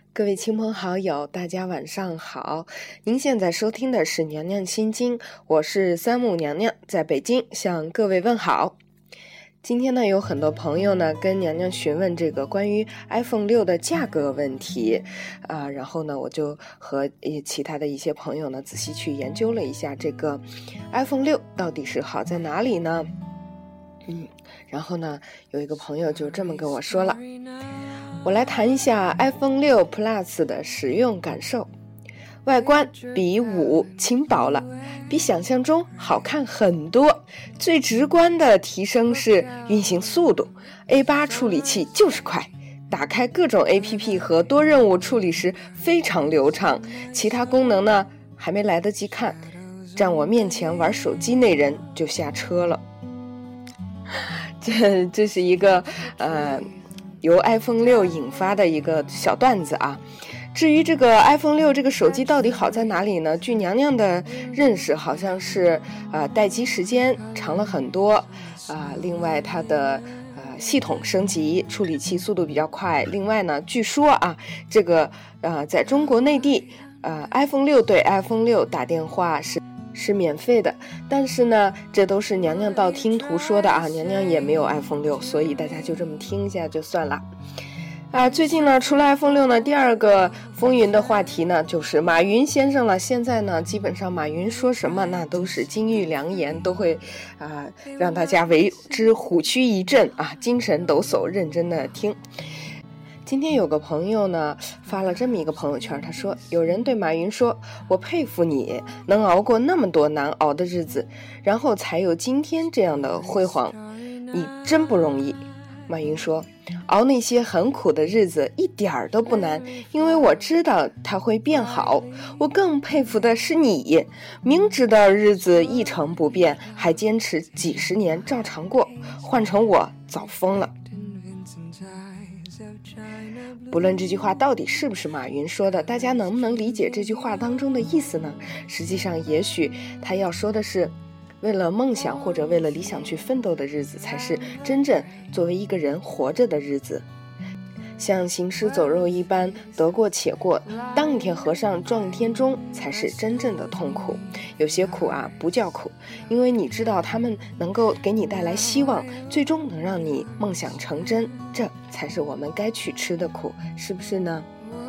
各位亲朋好友，大家晚上好。您现在收听的是娘娘心经，我是三木娘娘，在北京向各位问好。今天呢，有很多朋友呢跟娘娘询问这个关于 iPhone 6的价格问题然后呢，我就和其他的一些朋友呢仔细去研究了一下这个 iPhone 6到底是好在哪里呢？然后呢，有一个朋友就这么跟我说了。我来谈一下 iPhone 6 Plus 的使用感受。外观比5轻薄了，比想象中好看很多。最直观的提升是运行速度， A8 处理器就是快，打开各种 APP 和多任务处理时非常流畅。其他功能呢，还没来得及看，站我面前玩手机那人就下车了。这是一个由 iPhone 6引发的一个小段子啊。至于这个 iPhone 6这个手机到底好在哪里呢？据娘娘的认识，好像是待机时间长了很多另外它的系统升级，处理器速度比较快。另外呢，据说这个在中国内地iPhone 6对 iPhone 6打电话是免费的，但是呢，这都是娘娘道听途说的娘娘也没有 iPhone 6，所以大家就这么听一下就算了。最近呢，除了 iPhone 6呢，第二个风云的话题呢，就是马云先生了。现在呢，基本上马云说什么，那都是金玉良言，都会让大家为之虎躯一震精神抖擞，认真的听。今天有个朋友呢发了这么一个朋友圈，他说有人对马云说，我佩服你能熬过那么多难熬的日子，然后才有今天这样的辉煌，你真不容易。马云说，熬那些很苦的日子一点儿都不难，因为我知道它会变好。我更佩服的是你，明知道日子一成不变，还坚持几十年照常过，换成我早疯了。不论这句话到底是不是马云说的，大家能不能理解这句话当中的意思呢？实际上也许他要说的是，为了梦想或者为了理想去奋斗的日子，才是真正作为一个人活着的日子。像行尸走肉一般得过且过，当一天和尚撞一天钟，才是真正的痛苦。有些苦不叫苦，因为你知道他们能够给你带来希望，最终能让你梦想成真，这才是我们该去吃的苦，是不是呢？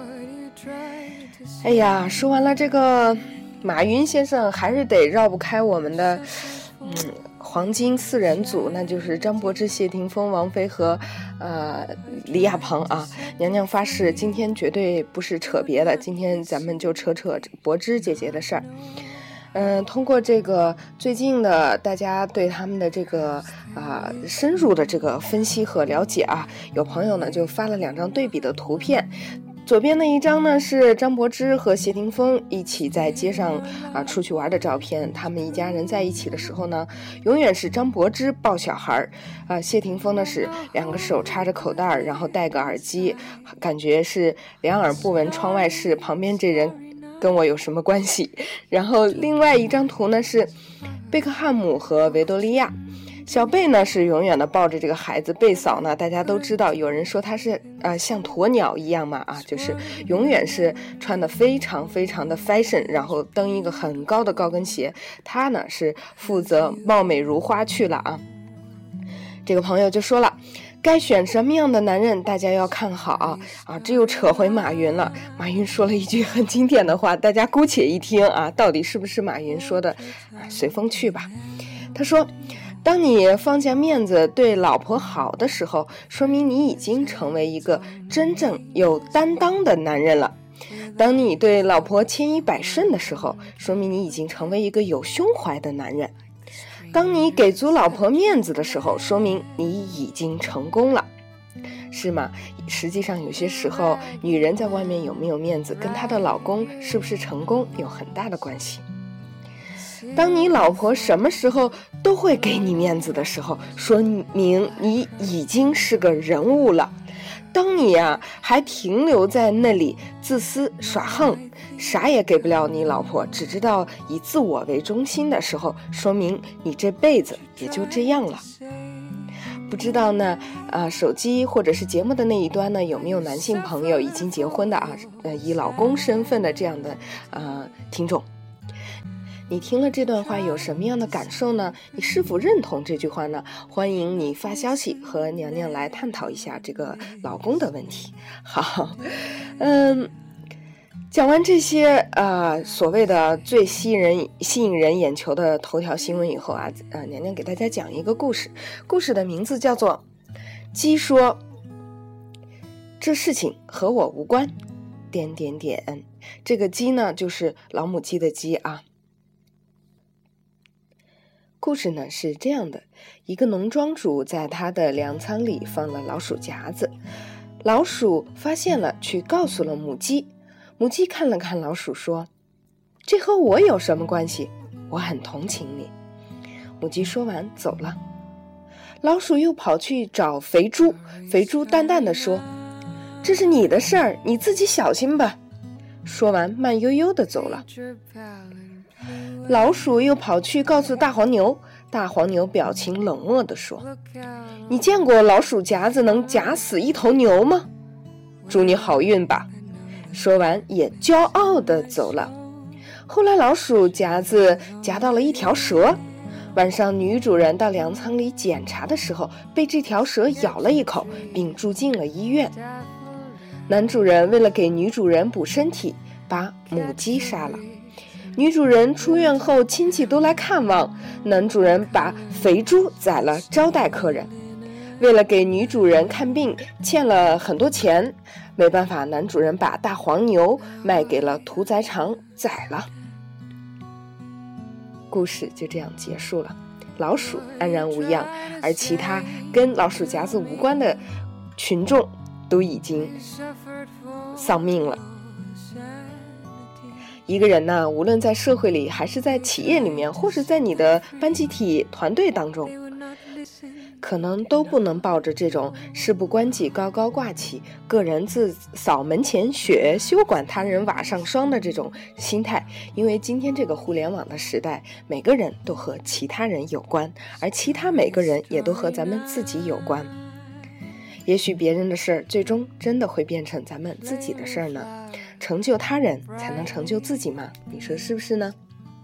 哎呀，说完了这个马云先生，还是得绕不开我们的黄金四人组，那就是张柏芝、谢霆锋、王菲和李亚鹏娘娘发誓今天绝对不是扯别的，今天咱们就扯柏芝姐姐的事儿。通过这个最近的大家对他们的这个深入的这个分析和了解有朋友呢就发了2张对比的图片。左边的一张呢是张柏芝和谢霆锋一起在街上出去玩的照片，他们一家人在一起的时候呢，永远是张柏芝抱小孩谢霆锋呢是2个手插着口袋，然后戴个耳机，感觉是两耳不闻窗外事，旁边这人跟我有什么关系。然后另外一张图呢是贝克汉姆和维多利亚，小贝呢是永远的抱着这个孩子，贝嫂呢大家都知道，有人说她是像鸵鸟一样嘛就是永远是穿的非常非常的 fashion， 然后蹬一个很高的高跟鞋，她呢是负责貌美如花去了这个朋友就说了，该选什么样的男人大家要看好这又扯回马云了。马云说了一句很经典的话，大家姑且一听到底是不是马云说的随风去吧。他说，当你放下面子对老婆好的时候，说明你已经成为一个真正有担当的男人了。当你对老婆千依百顺的时候，说明你已经成为一个有胸怀的男人。当你给足老婆面子的时候，说明你已经成功了，是吗？实际上有些时候，女人在外面有没有面子，跟她的老公是不是成功有很大的关系。当你老婆什么时候都会给你面子的时候，说明你已经是个人物了。当你还停留在那里自私耍横，啥也给不了你老婆，只知道以自我为中心的时候，说明你这辈子也就这样了。 不知道呢，手机或者是节目的那一端呢，有没有男性朋友已经结婚的啊？以老公身份的这样的听众，你听了这段话有什么样的感受呢？你是否认同这句话呢？欢迎你发消息和娘娘来探讨一下这个老公的问题。好，讲完这些所谓的最吸引人眼球的头条新闻以后啊，娘娘给大家讲一个故事，故事的名字叫做鸡说这事情和我无关，这个鸡呢就是老母鸡的鸡啊。故事呢是这样的，一个农庄主在他的粮仓里放了老鼠夹子，老鼠发现了，去告诉了母鸡。母鸡看了看老鼠说，这和我有什么关系？我很同情你。母鸡说完走了。老鼠又跑去找肥猪，肥猪淡淡地说，这是你的事儿，你自己小心吧。说完慢悠悠地走了。老鼠又跑去告诉大黄牛，大黄牛表情冷漠地说，你见过老鼠夹子能夹死一头牛吗？祝你好运吧。说完也骄傲地走了。后来老鼠夹子夹到了一条蛇，晚上女主人到粮仓里检查的时候，被这条蛇咬了一口，并住进了医院。男主人为了给女主人补身体，把母鸡杀了。女主人出院后，亲戚都来看望，男主人把肥猪宰了招待客人。为了给女主人看病，欠了很多钱，没办法，男主人把大黄牛卖给了屠宰场宰了。故事就这样结束了，老鼠安然无恙，而其他跟老鼠夹子无关的群众都已经丧命了。一个人呢，无论在社会里，还是在企业里面，或是在你的班集体团队当中，可能都不能抱着这种事不关己高高挂起，个人自扫门前雪，休管他人瓦上霜的这种心态。因为今天这个互联网的时代，每个人都和其他人有关，而其他每个人也都和咱们自己有关。也许别人的事儿最终真的会变成咱们自己的事儿呢。成就他人才能成就自己嘛，你说是不是呢？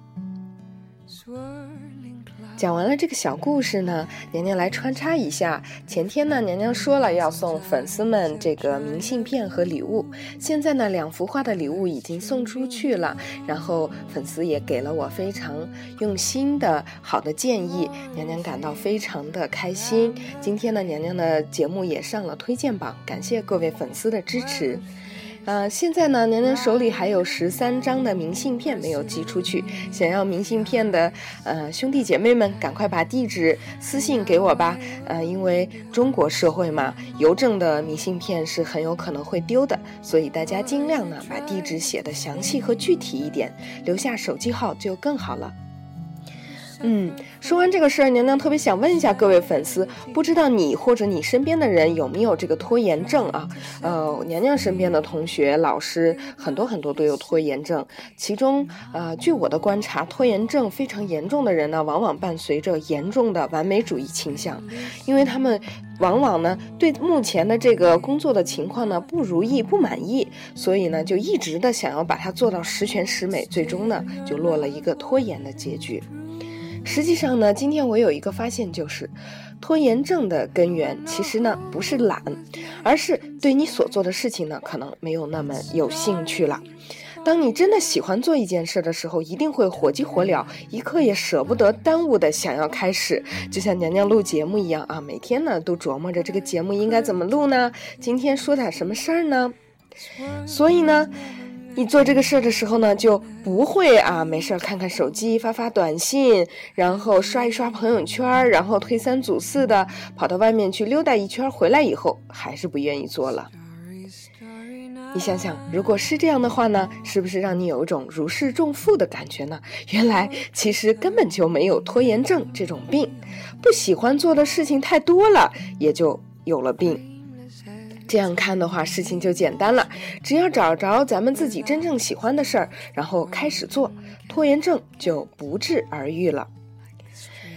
讲完了这个小故事呢，娘娘来穿插一下。前天呢，娘娘说了要送粉丝们这个明信片和礼物，现在呢，2幅画的礼物已经送出去了，然后粉丝也给了我非常用心的好的建议，娘娘感到非常的开心。今天呢，娘娘的节目也上了推荐榜，感谢各位粉丝的支持。现在呢，娘娘手里还有13张的明信片没有寄出去，想要明信片的兄弟姐妹们，赶快把地址私信给我吧。因为中国社会嘛，邮政的明信片是很有可能会丢的，所以大家尽量呢把地址写得详细和具体一点，留下手机号就更好了。说完这个事儿，娘娘特别想问一下各位粉丝，不知道你或者你身边的人有没有这个拖延症啊？娘娘身边的同学、老师很多都有拖延症，其中据我的观察，拖延症非常严重的人呢，往往伴随着严重的完美主义倾向，因为他们往往呢对目前的这个工作的情况呢不如意、不满意，所以呢就一直的想要把它做到十全十美，最终呢就落了一个拖延的结局。实际上呢，今天我有一个发现，就是拖延症的根源其实呢不是懒，而是对你所做的事情呢可能没有那么有兴趣了。当你真的喜欢做一件事的时候，一定会火急火燎，一刻也舍不得耽误的想要开始，就像娘娘录节目一样啊，每天呢都琢磨着这个节目应该怎么录呢，今天说点什么事儿呢。所以呢你做这个事儿的时候呢，就不会没事看看手机，发短信，然后刷一刷朋友圈，然后推3阻4的跑到外面去溜达一圈，回来以后还是不愿意做了。你想想，如果是这样的话呢，是不是让你有一种如释重负的感觉呢？原来其实根本就没有拖延症这种病，不喜欢做的事情太多了，也就有了病。这样看的话，事情就简单了，只要找着咱们自己真正喜欢的事儿，然后开始做，拖延症就不治而愈了。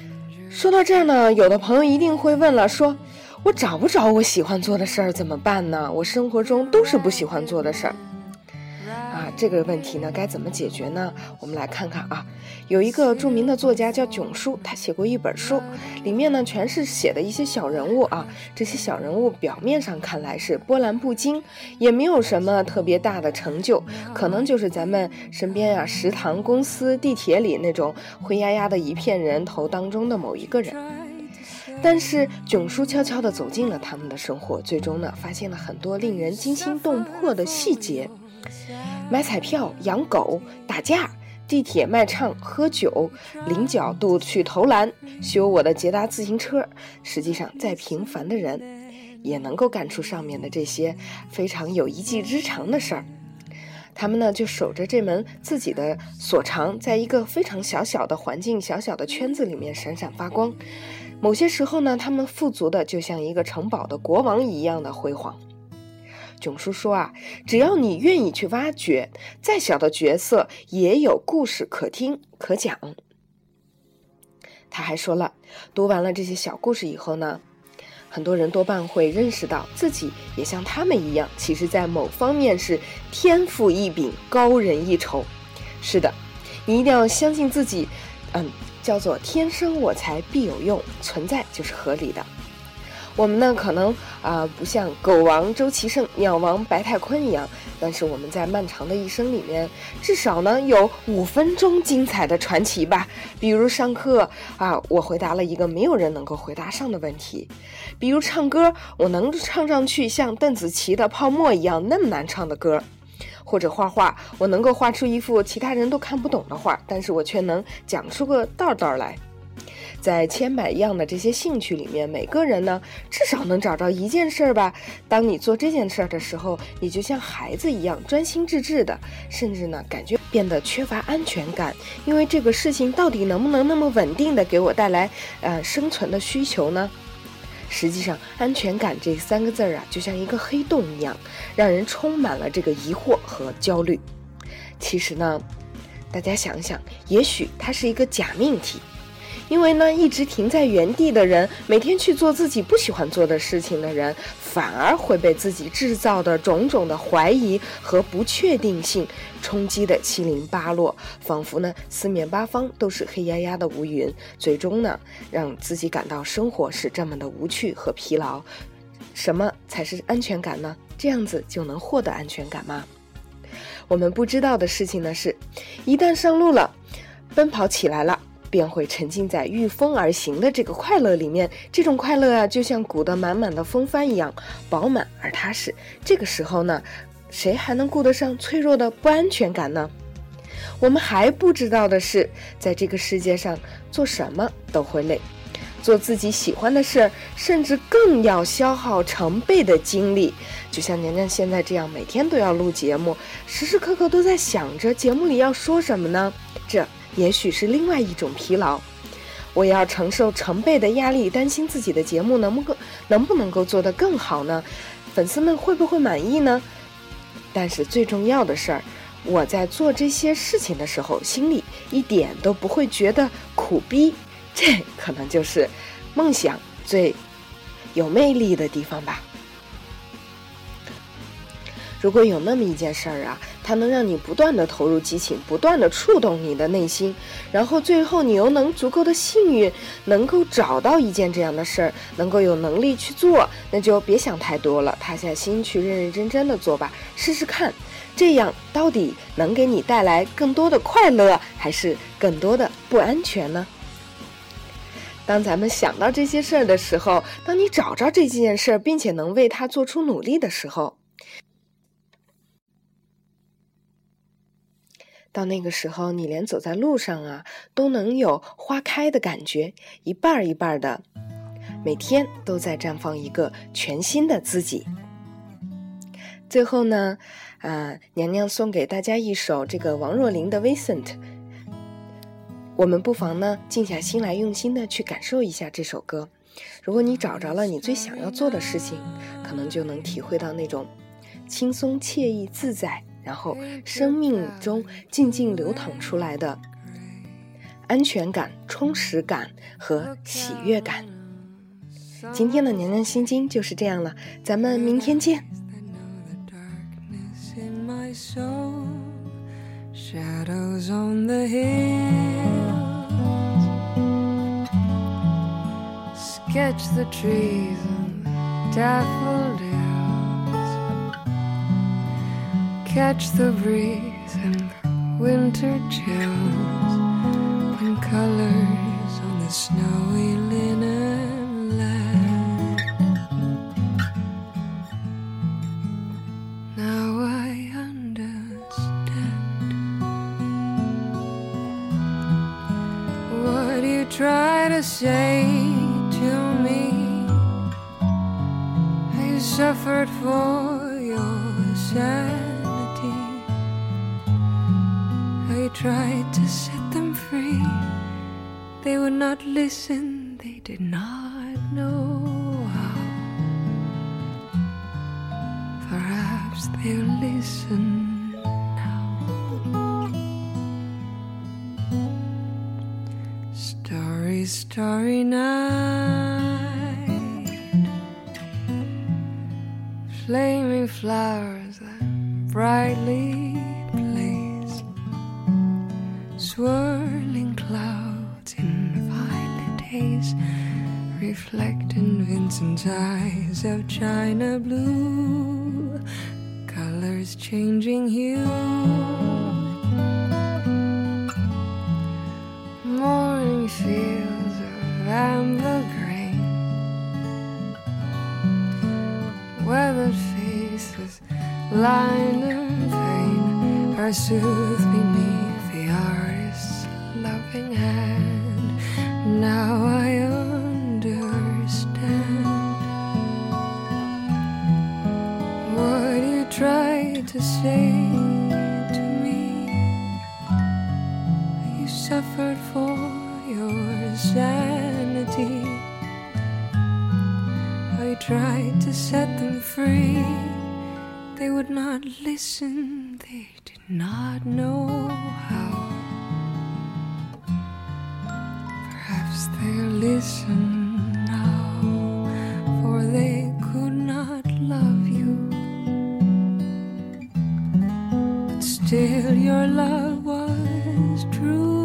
说到这儿呢，有的朋友一定会问了，说我找不着我喜欢做的事儿怎么办呢？我生活中都是不喜欢做的事儿这个问题呢该怎么解决呢？我们来看看有一个著名的作家叫囧书，他写过一本书，里面呢全是写的一些小人物这些小人物表面上看来是波澜不惊，也没有什么特别大的成就，可能就是咱们身边食堂、公司、地铁里那种灰压压的一片人头当中的某一个人。但是囧叔悄悄地走进了他们的生活，最终呢发现了很多令人惊心动魄的细节。买彩票、养狗、打架、地铁卖唱、喝酒、领角度去投篮、修我的捷达自行车，实际上再平凡的人也能够干出上面的这些非常有一技之长的事儿。他们呢就守着这门自己的所长，在一个非常小小的环境、小小的圈子里面闪闪发光。某些时候呢，他们富足的就像一个城堡的国王一样的辉煌。囧叔说只要你愿意去挖掘，再小的角色也有故事可听可讲。他还说了，读完了这些小故事以后呢，很多人多半会认识到自己也像他们一样，其实在某方面是天赋异禀，高人一筹。是的，你一定要相信自己，叫做天生我材必有用，存在就是合理的。我们呢可能不像狗王周奇胜、鸟王白泰坤一样，但是我们在漫长的一生里面，至少呢有5分钟精彩的传奇吧。比如上课我回答了一个没有人能够回答上的问题；比如唱歌，我能唱上去像邓紫棋的《泡沫》一样那么难唱的歌；或者画画，我能够画出一幅其他人都看不懂的画，但是我却能讲出个道道来。在千百样的这些兴趣里面，每个人呢至少能找着一件事吧。当你做这件事的时候，你就像孩子一样专心致志的，甚至呢感觉变得缺乏安全感，因为这个事情到底能不能那么稳定的给我带来生存的需求呢？实际上安全感这3个字就像一个黑洞一样，让人充满了这个疑惑和焦虑。其实呢，大家想想，也许它是一个假命题。因为呢，一直停在原地的人，每天去做自己不喜欢做的事情的人，反而会被自己制造的种种的怀疑和不确定性冲击的七零八落，仿佛呢四面八方都是黑压压的乌云，最终呢让自己感到生活是这么的无趣和疲劳。什么才是安全感呢？这样子就能获得安全感吗？我们不知道的事情呢是，一旦上路了，奔跑起来了，便会沉浸在御风而行的这个快乐里面。这种快乐就像鼓得满满的风帆一样饱满而踏实。这个时候呢，谁还能顾得上脆弱的不安全感呢？我们还不知道的是，在这个世界上做什么都会累，做自己喜欢的事，甚至更要消耗成倍的精力。就像娘娘现在这样，每天都要录节目，时时刻刻都在想着节目里要说什么呢？这也许是另外一种疲劳。我要承受成倍的压力，担心自己的节目能不能够做得更好呢？粉丝们会不会满意呢？但是最重要的事儿，我在做这些事情的时候，心里一点都不会觉得苦逼。这可能就是梦想最有魅力的地方吧。如果有那么一件事儿它能让你不断的投入激情，不断的触动你的内心，然后最后你又能足够的幸运，能够找到一件这样的事儿，能够有能力去做，那就别想太多了，踏下心去认认真真的做吧，试试看，这样到底能给你带来更多的快乐，还是更多的不安全呢？当咱们想到这些事儿的时候，当你找着这件事儿，并且能为它做出努力的时候，到那个时候，你连走在路上都能有花开的感觉，一半一半的，每天都在绽放一个全新的自己。最后呢，娘娘送给大家一首这个王若琳的 Vincent， 我们不妨呢静下心来，用心的去感受一下这首歌。如果你找着了你最想要做的事情，可能就能体会到那种轻松惬意自在，然后生命中静静流淌出来的安全感、充实感和喜悦感。今天的娘娘心经就是这样了，咱们明天见。 Shadows on the hills, sketch the trees and daffodils, catch the breeze and the winter chills, and colors on the snowy linen land. Now I what you try to say to me, you suffered for your sanity, I tried to set them free, they would not listen, they did not know how. Perhaps they'll listen. Starry, starry night, flaming flowers that brightly blaze, swirling clouds in violet haze, reflect in Vincent's eyes of china blue, colors changing hue. Morning fields of amber grain, weathered faces lined in pain are soothed beneath the artist's loving hand. Now I understand what you tried to say to me. You suffered for your sanity, I tried to set them free, they would not listen, they did not know how. Perhaps they'll listen now, for they could not love you, but still your love was true.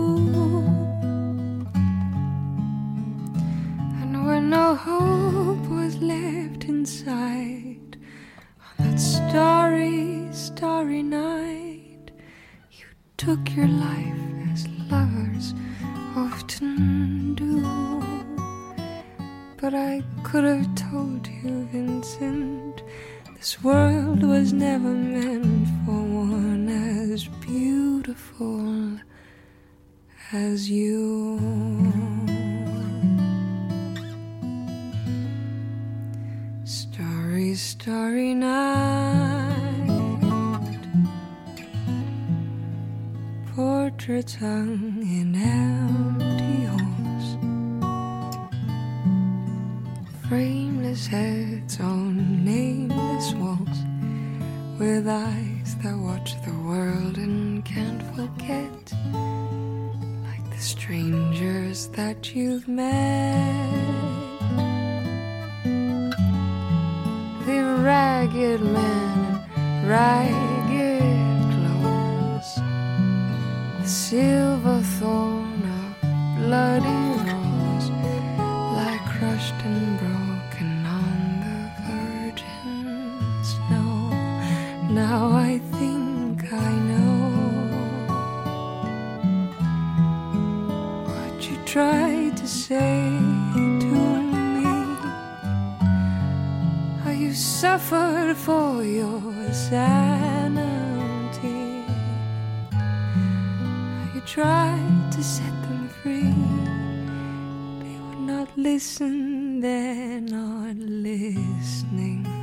When no hope was left inside, on that starry, starry night, you took your life as lovers often do. But I could have told you, Vincent, this world was never meant for one as beautiful as you. Starry, starry night, portraits hung in empty halls, frameless heads on nameless walls, with eyes that watch the world and can't forget, like the strangers that you've met. The ragged men in ragged clothes, the silver thorn of bloody rose, lie crushed and broken on the virgin snow. Now I think I know what you tried to say to me. You suffered for your sanity, you tried to set them free, they would not listen, they're not listening.